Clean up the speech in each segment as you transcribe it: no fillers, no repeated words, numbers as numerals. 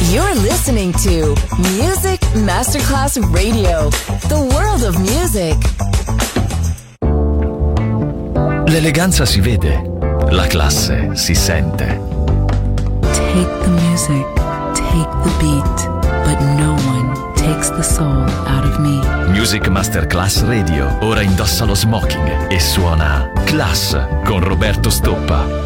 You're listening to Music Masterclass Radio, the world of music. L'eleganza si vede, la classe si sente. Take the music, take the beat, but no one takes the soul out of me. Music Masterclass Radio ora indossa lo smoking e suona Class con Roberto Stoppa.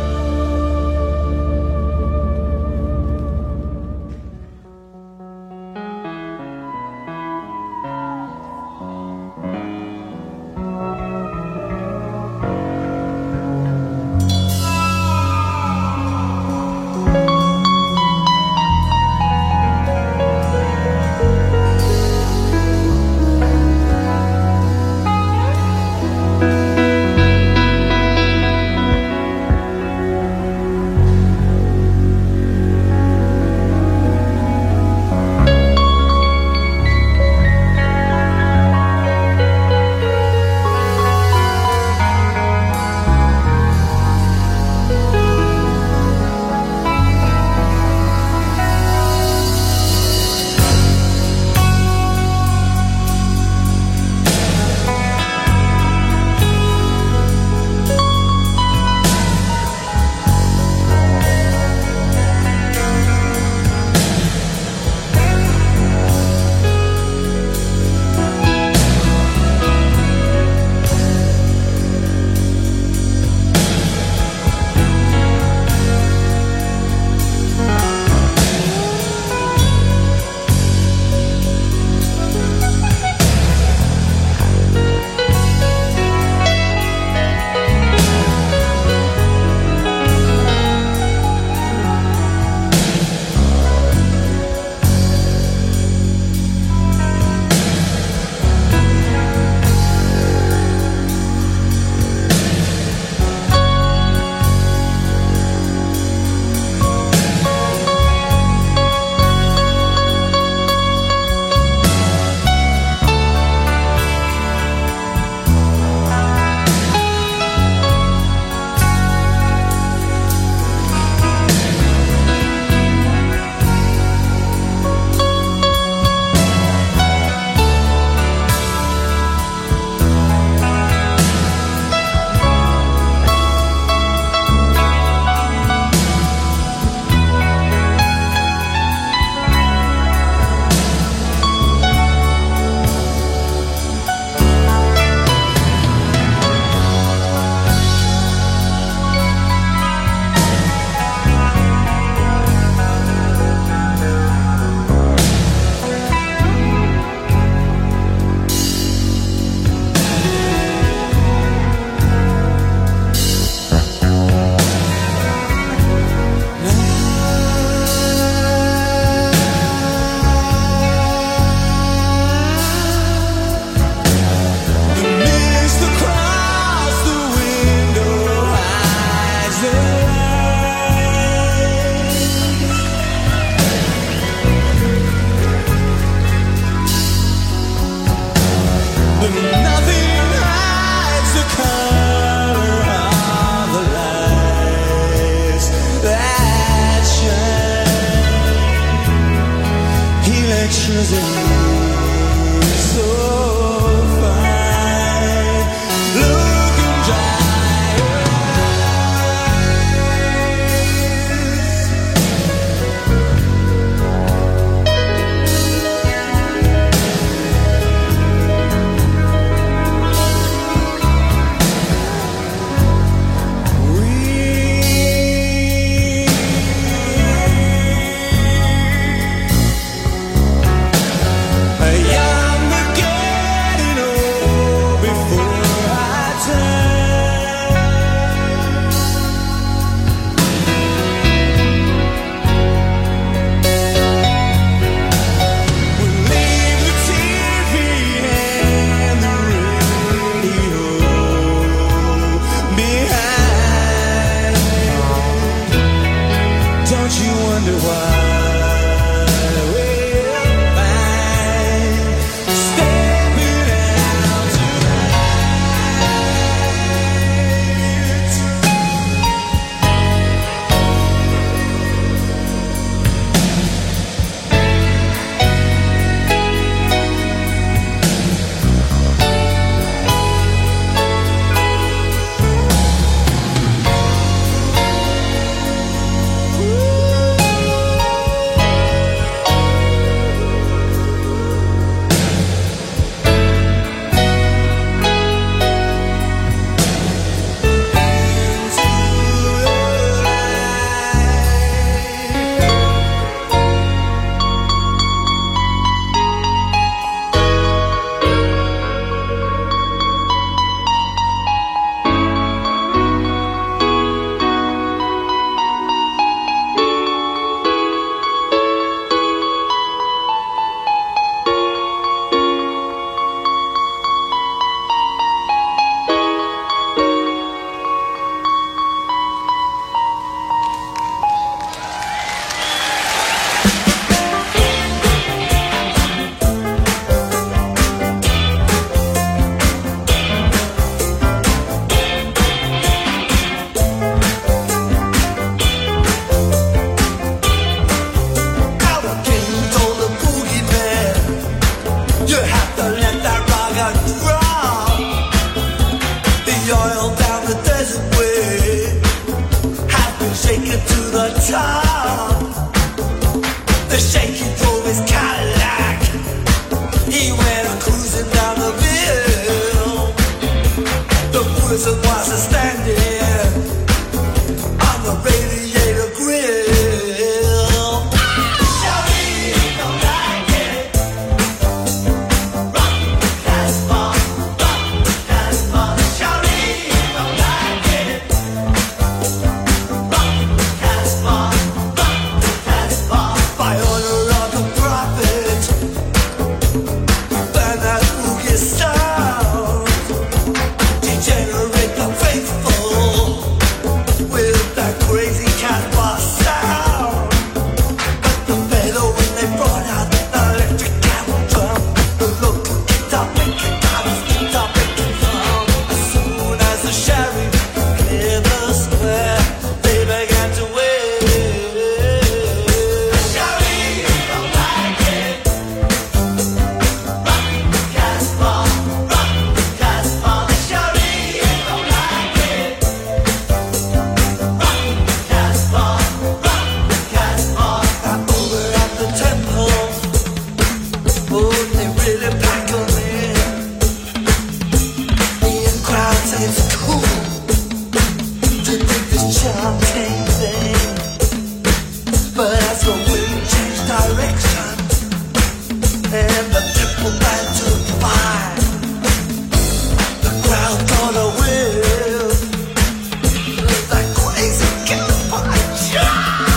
and the triple band to five. The crowd gonna win. That crazy California.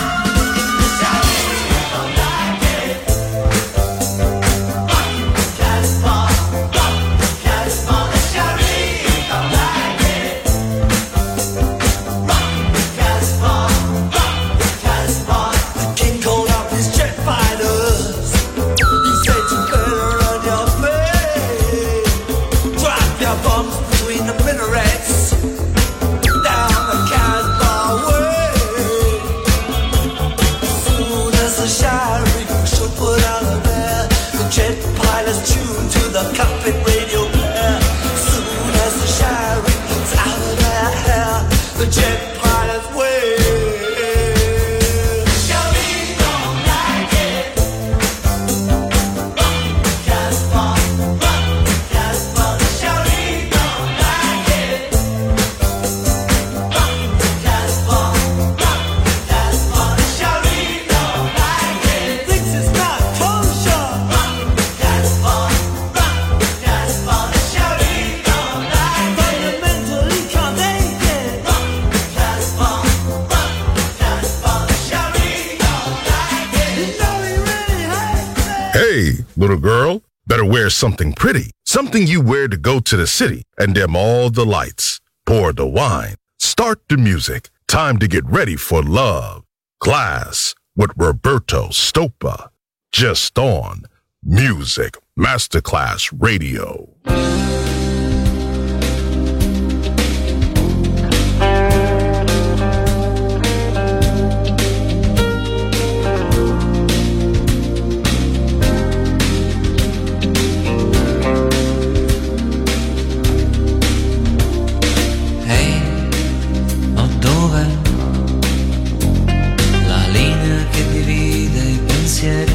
Don't like it. California, California, don't like it. California. The king called up his jet fighters. He said you better run your face. Drop your bombs between the minarets. Down the Casbah way. Soon as the sheriff should put out of there, the jet pilots tune to the cockpit radio player. Soon as the sheriff gets out of their hair, the jet pilots wave. Sheriff don't like it. Casbah, the sheriff don't like it. Casbah, the sheriff don't like it. Thinks it's not kosher. Casbah, the sheriff don't like it. Fundamentally condemned. Casbah, the sheriff don't like it. You know he really hates it. Hey, little girl, better wear something pretty. Something you wear to go to the city and dim all the lights. Pour the wine. Start the music. Time to get ready for love. Class with Roberto Stoppa. Just on Music Masterclass Radio. Ehi, ma dov'è la linea che divide i pensieri?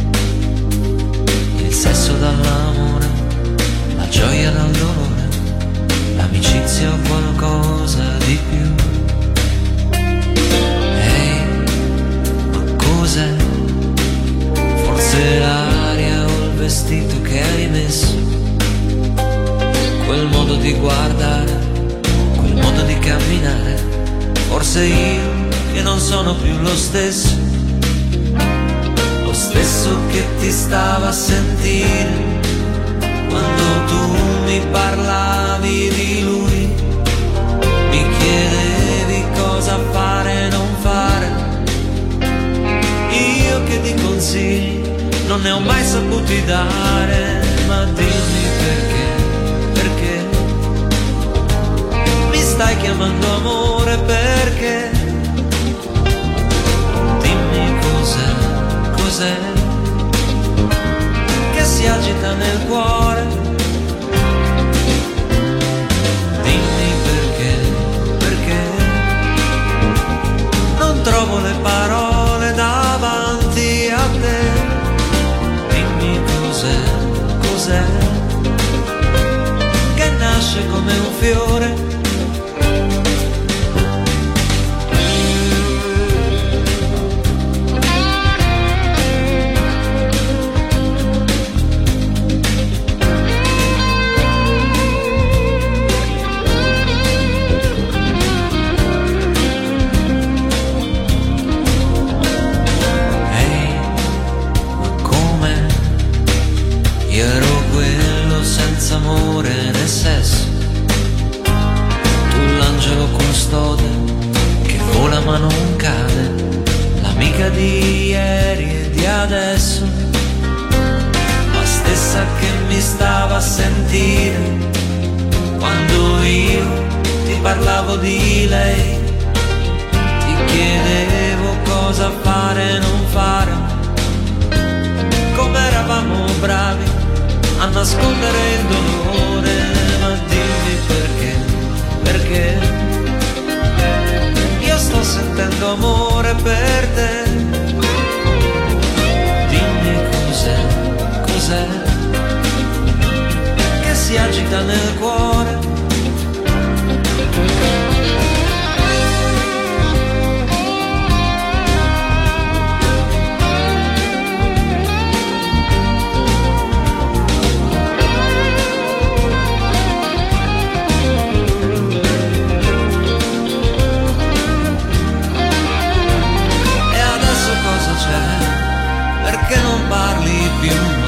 Il sesso dall'amore, la gioia dal dolore, l'amicizia o qualcosa di più. Ehi, ma cos'è? Forse l'aria o il vestito che hai messo, quel modo di guardare, quel modo di camminare. Forse io che non sono più lo stesso che ti stava a sentire quando tu mi parlavi di lui, mi chiedevi cosa fare e non fare. Io che ti consigli non ne ho mai saputi dare, ma dimmi perché mi stai chiamando amore, perché dimmi cos'è che si agita nel cuore, dimmi perché non trovo le parole davanti a te, dimmi cos'è che nasce come un fiore. Amore né sesso, tu l'angelo custode che vola ma non cade, l'amica di ieri e di adesso, la stessa che mi stava a sentire quando io ti parlavo di lei, ti chiedevo cosa fare e non fare, come eravamo bravi a nascondere il dolore, ma dimmi perché io sto sentendo amore per te, dimmi cos'è che si agita nel cuore.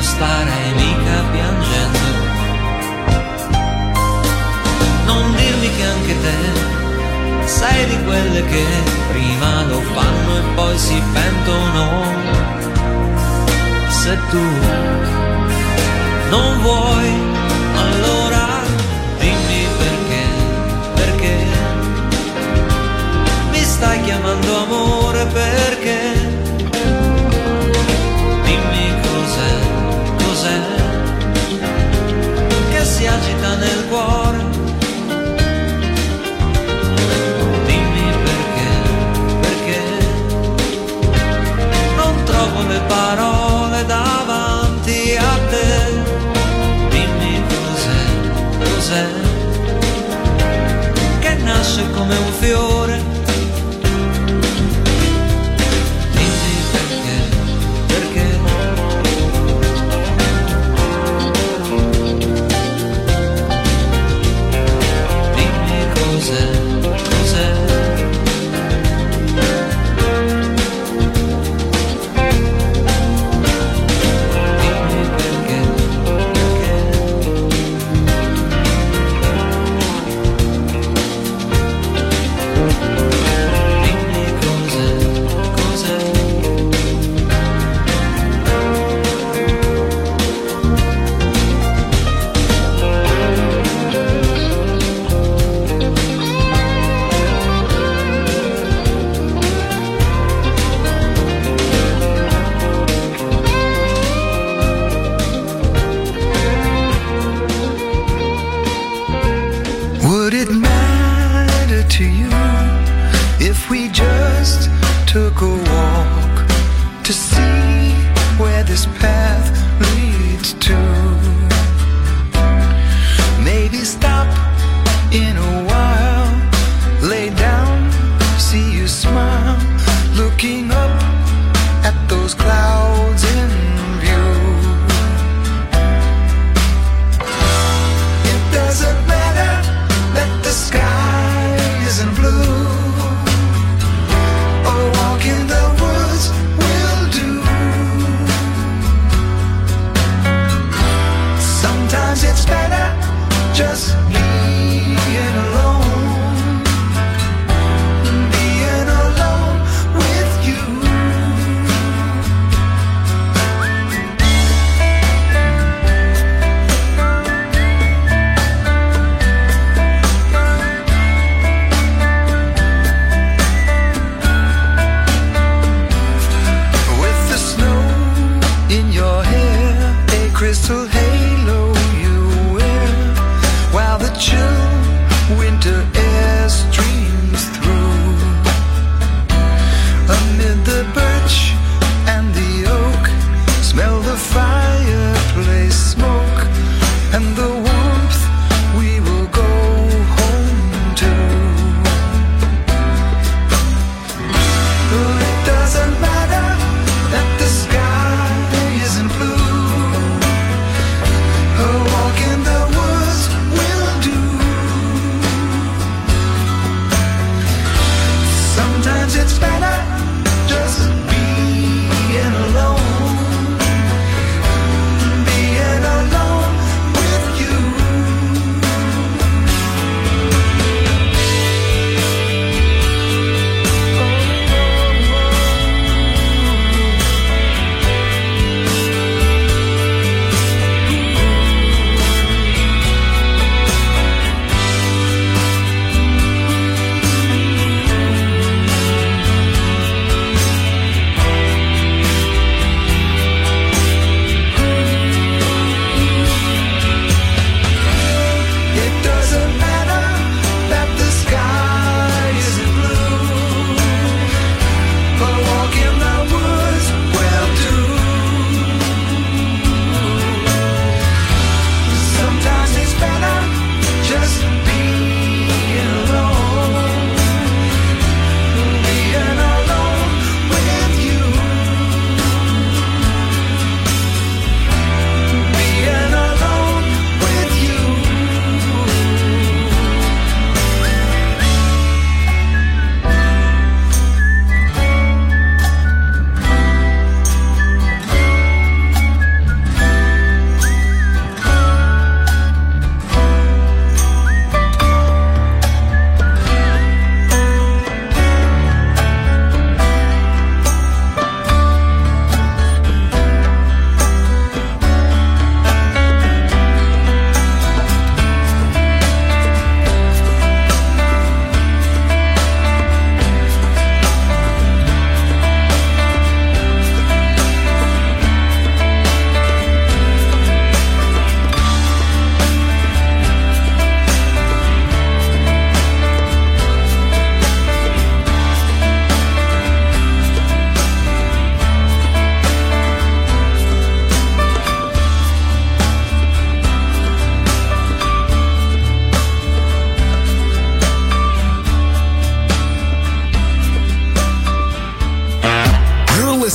starei mica piangendo. Non dirmi che anche te sei di quelle che prima lo fanno e poi si pentono. Se tu non vuoi, allora dimmi perché mi stai chiamando amore, perché dimmi cos'è che si agita nel cuore. Dimmi perché non trovo le parole davanti a te. Dimmi cos'è che nasce come un fiore. Took a walk to see where this path leads to. Maybe stop in a while, lay down, see you smile, looking up at those clouds in view. It doesn't matter that the sky isn't blue. In the woods will do. Sometimes it's better just being alone, being alone with you.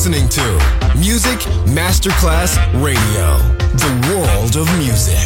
listening to Music Masterclass Radio, the world of music.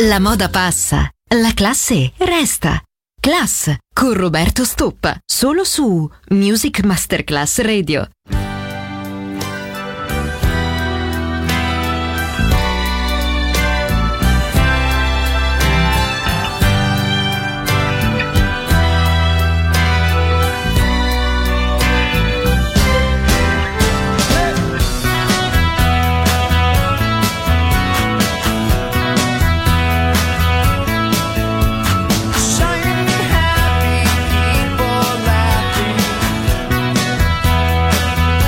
La moda passa, la classe resta. Class con Roberto Stoppa, solo su Music Masterclass Radio. Shining, happy people laughing.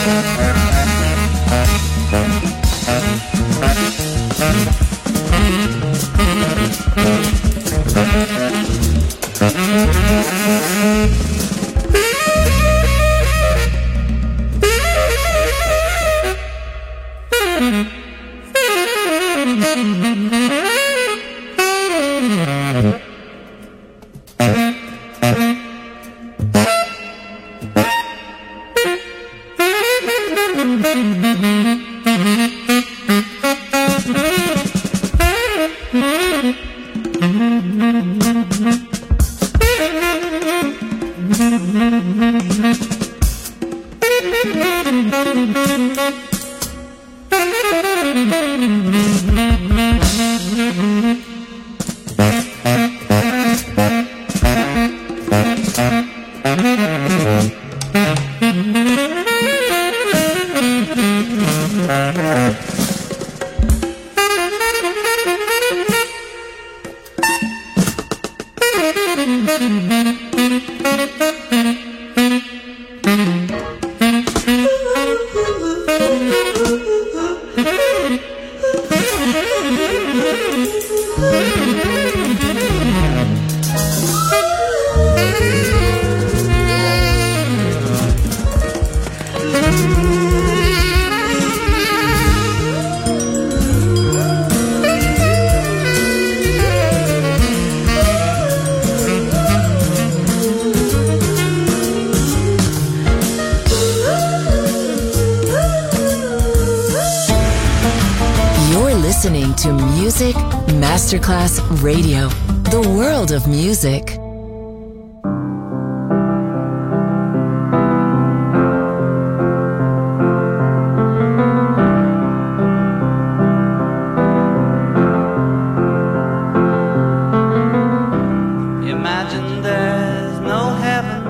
Listening to Music Masterclass Radio, the world of music. Imagine there's no heaven.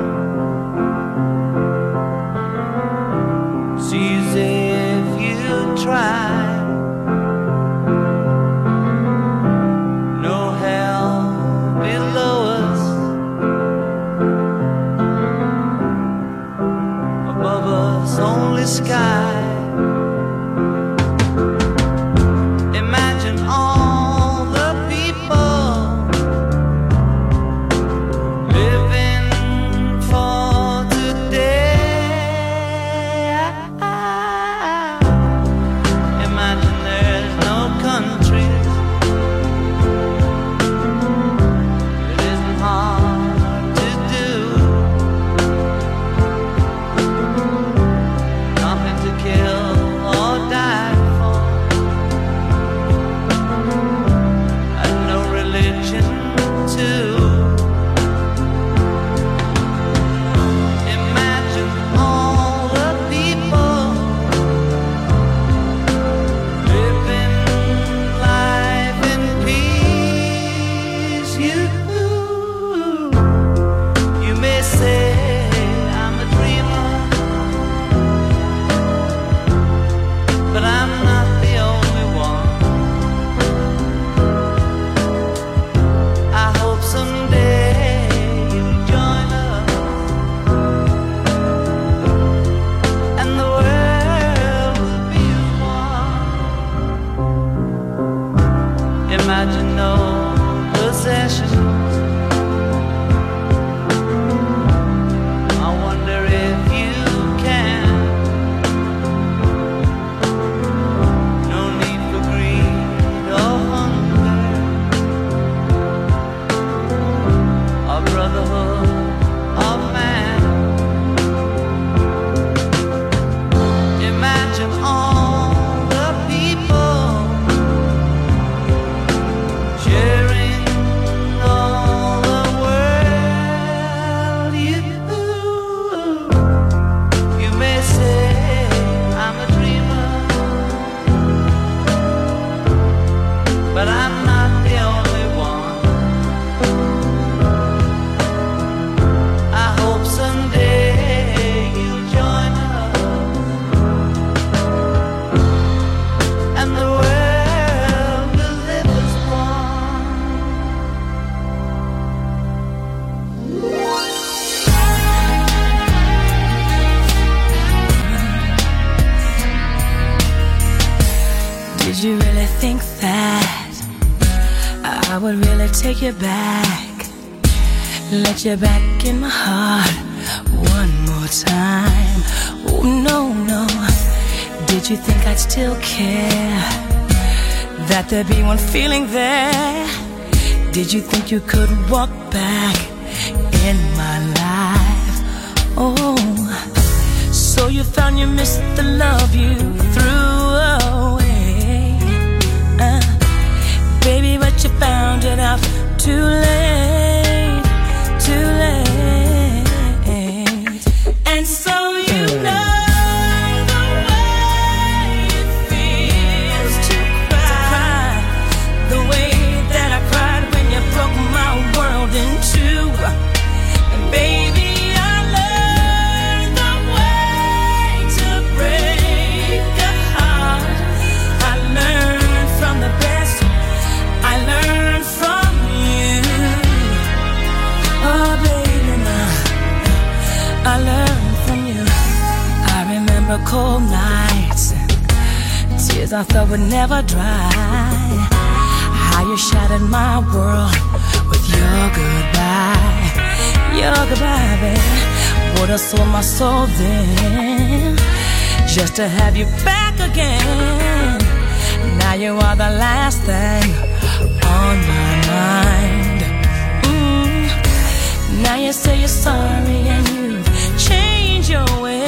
It's easy if you try. Sky. Imagine all the people living for today. Imagine there's no countries. It isn't hard to do. Kill think that I would really take you back, let you back in my heart one more time? Oh no, no. Did you think I'd still care, that there'd be one feeling there? Did you think you could walk back in my life? Oh, so you found you missed the love you threw away, baby, but you found it out too late, too late. And so you know cold nights, tears I thought would never dry. How you shattered my world with your goodbye, baby. Would have sold my soul then, just to have you back again. Now you are the last thing on my mind. Now you say you're sorry and you've changed your way.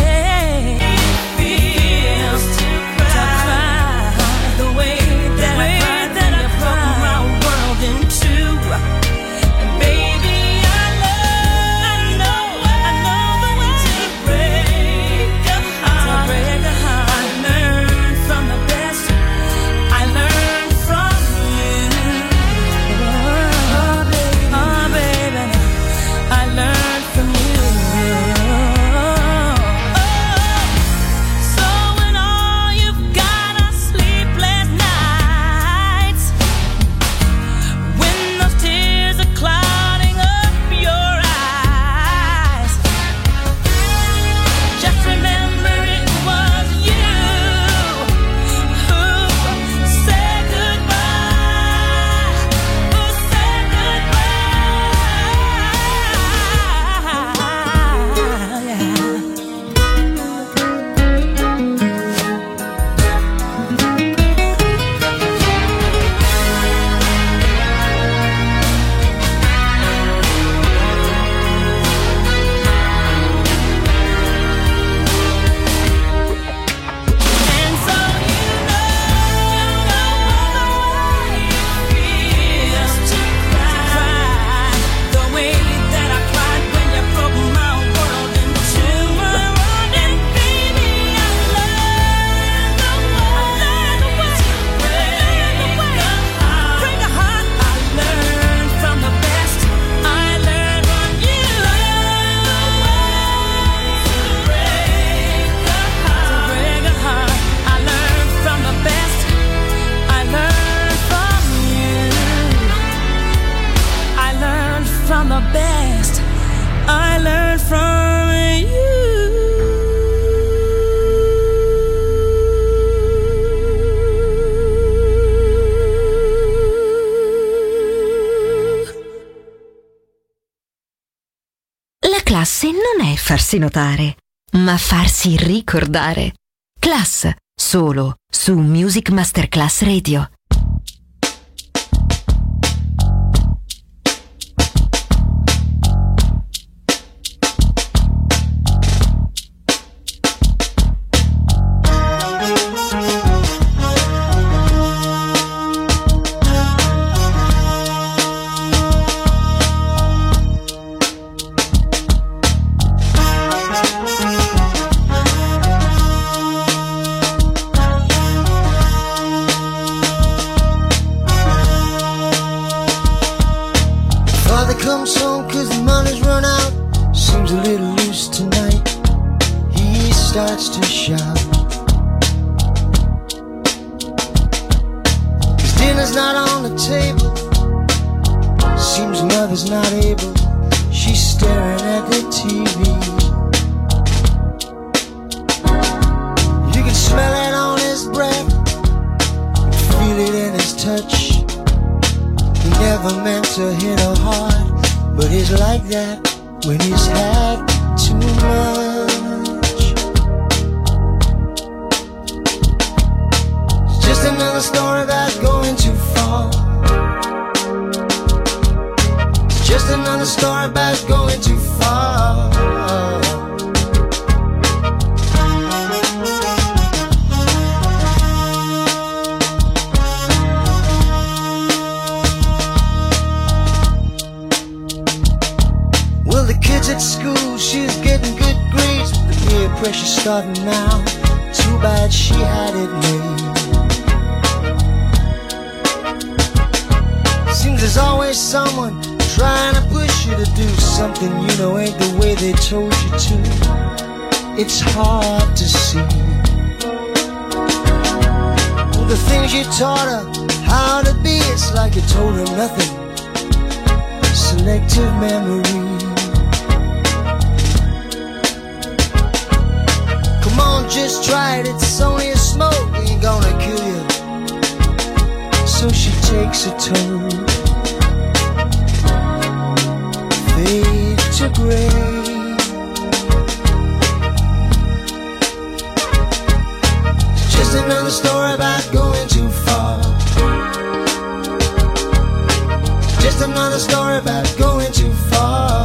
Classe non è farsi notare, ma farsi ricordare. Class, solo su Music Masterclass Radio. Feel it another story about going too far. It's just another story about going too far. Well, the kids at school, she's getting good grades, but the peer pressure's starting now. Too bad she had it made. Seems there's always someone trying to push you to do something you know ain't the way they told you to. It's hard to see. Well, the things you taught her how to be, it's like you told her nothing. Selective memory. Come on, just try it, it's only a smoke, it ain't gonna kill you. So she takes a toll, fade to gray. It's just another story about going too far. Just another story about going too far.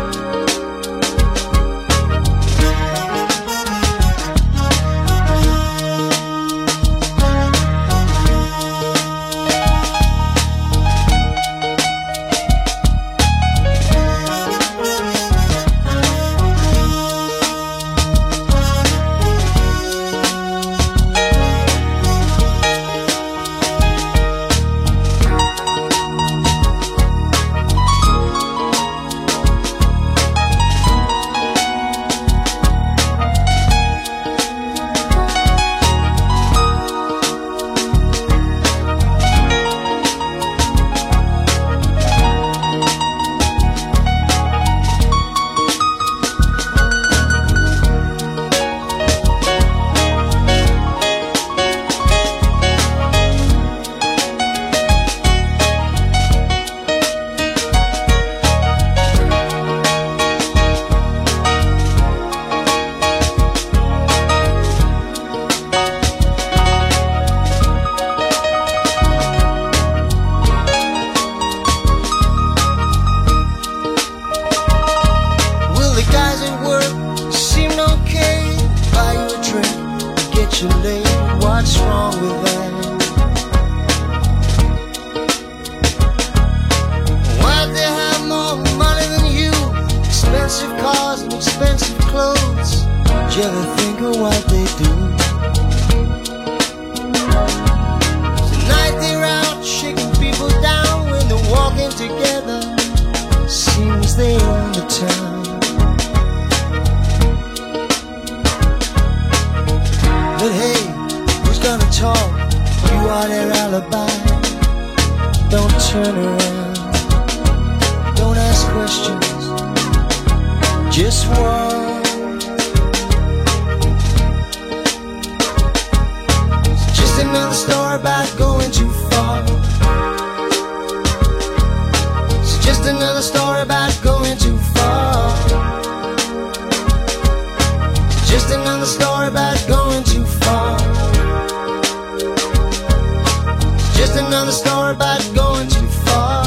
What's wrong with that? Why'd they have more money than you? Expensive cars and expensive clothes. Did you ever think of what they do? Tonight they're out shaking people down when they're walking together. Seems they own the town. But hey, who's gonna talk? You are their alibi. Don't turn around. Don't ask questions. Just walk. It's just another story about going too far. It's just another story about going too far. It's just another story about going too far. It's just another story about going too far.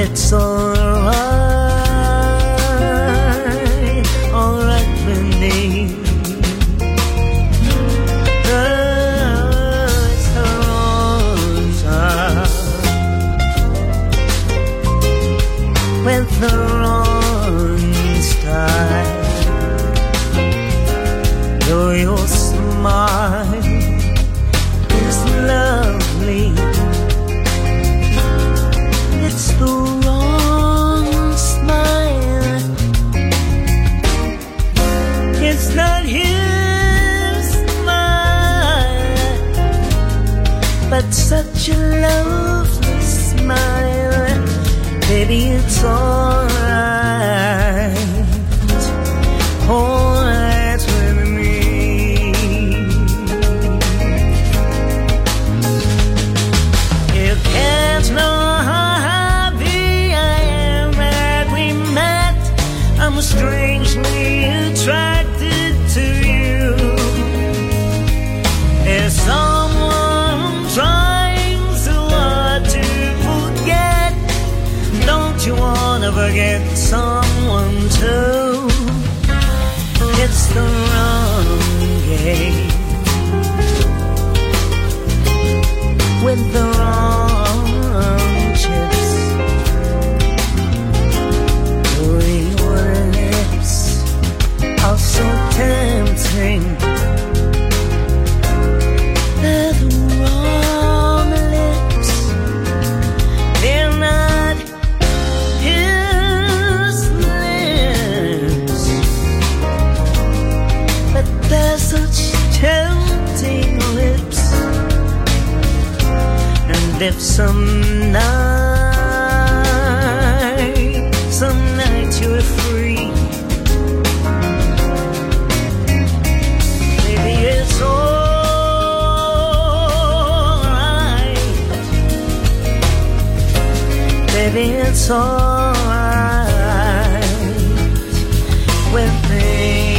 it's alright, alright with me. It's the wrong time with the wrong style. Though your smile is lovely, it's the wrong smile. It's not his smile, but such a lovely smile. Baby, it's alright, alright with me. You can't know how happy I am that we met. I'm strangely attracted to you. There's someone trying so hard to forget. Don't you wanna forget someone too? It's the wrong game with the wrong chips. Oh, your lips are so tempting. They're the wrong lips. They're not his lips, but they're such tempting lips. And if some night you're free, maybe it's alright. Baby, it's alright with me.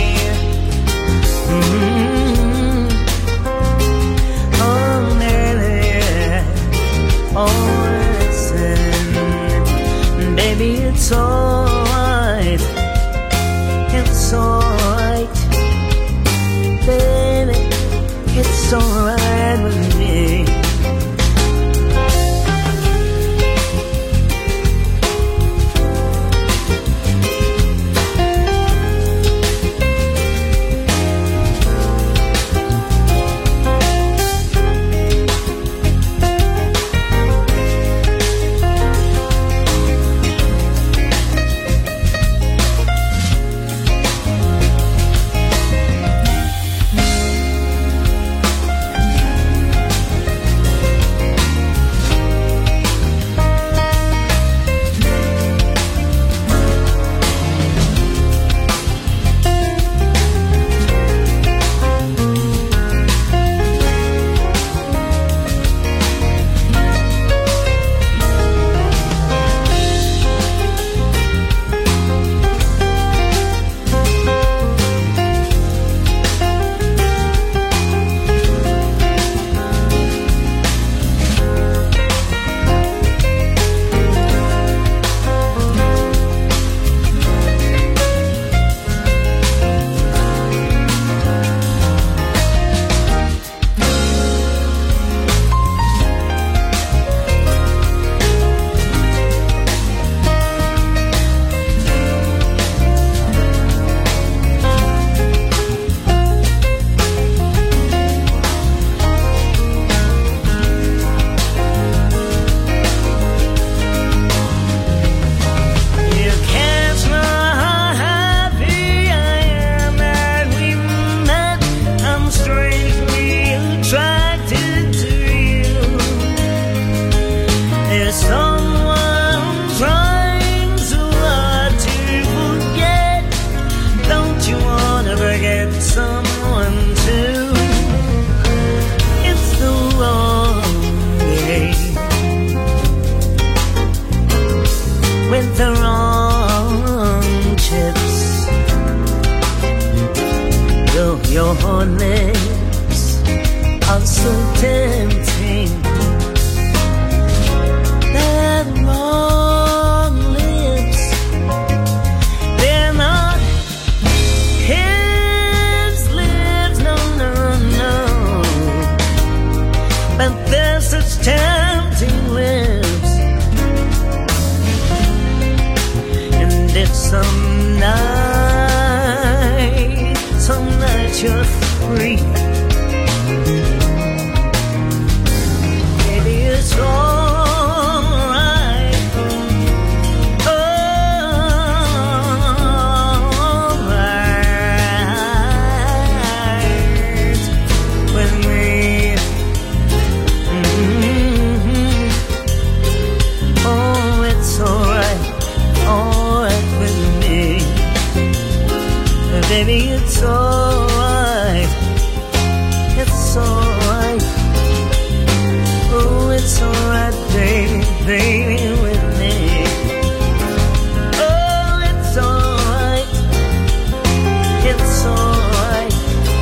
Oh, baby, oh, listen, baby, it's alright. It's alright, baby, it's alright with me. has such tempting lips, and it's some night you're free. Maybe it's alright, alright with me. Oh, it's alright with me. Baby, it's alright. It's alright. Oh, it's alright, baby, with me. Oh, it's alright. It's alright.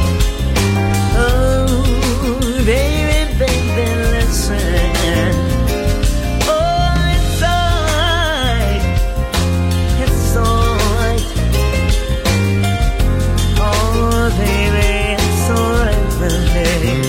Oh, baby, listen. Oh, it's alright. It's alright. Oh, baby, it's alright with me.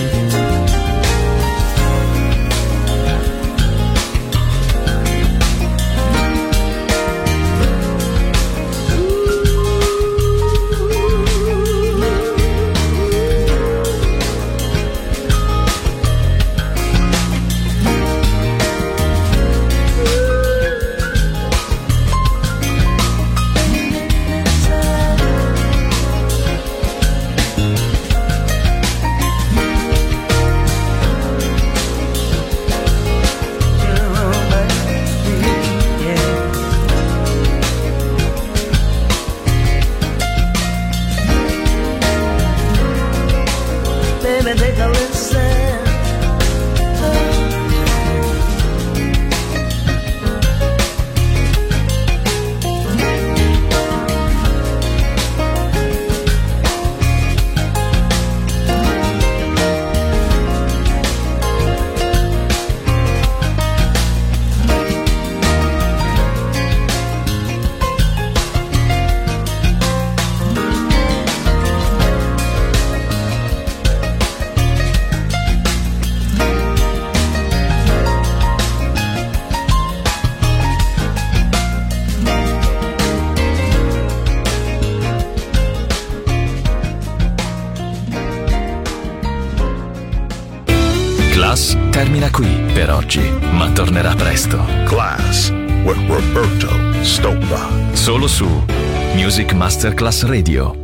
Baby, take a listen. Class termina qui per oggi, ma tornerà presto. Class with Roberto Stoppa. Solo su Music Masterclass Radio.